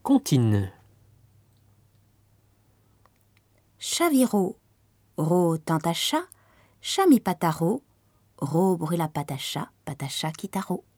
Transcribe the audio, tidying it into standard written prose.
Comptine. Chaviro, ro tant à chat, chat mi pataro, ro brûla patacha, patacha kitaro.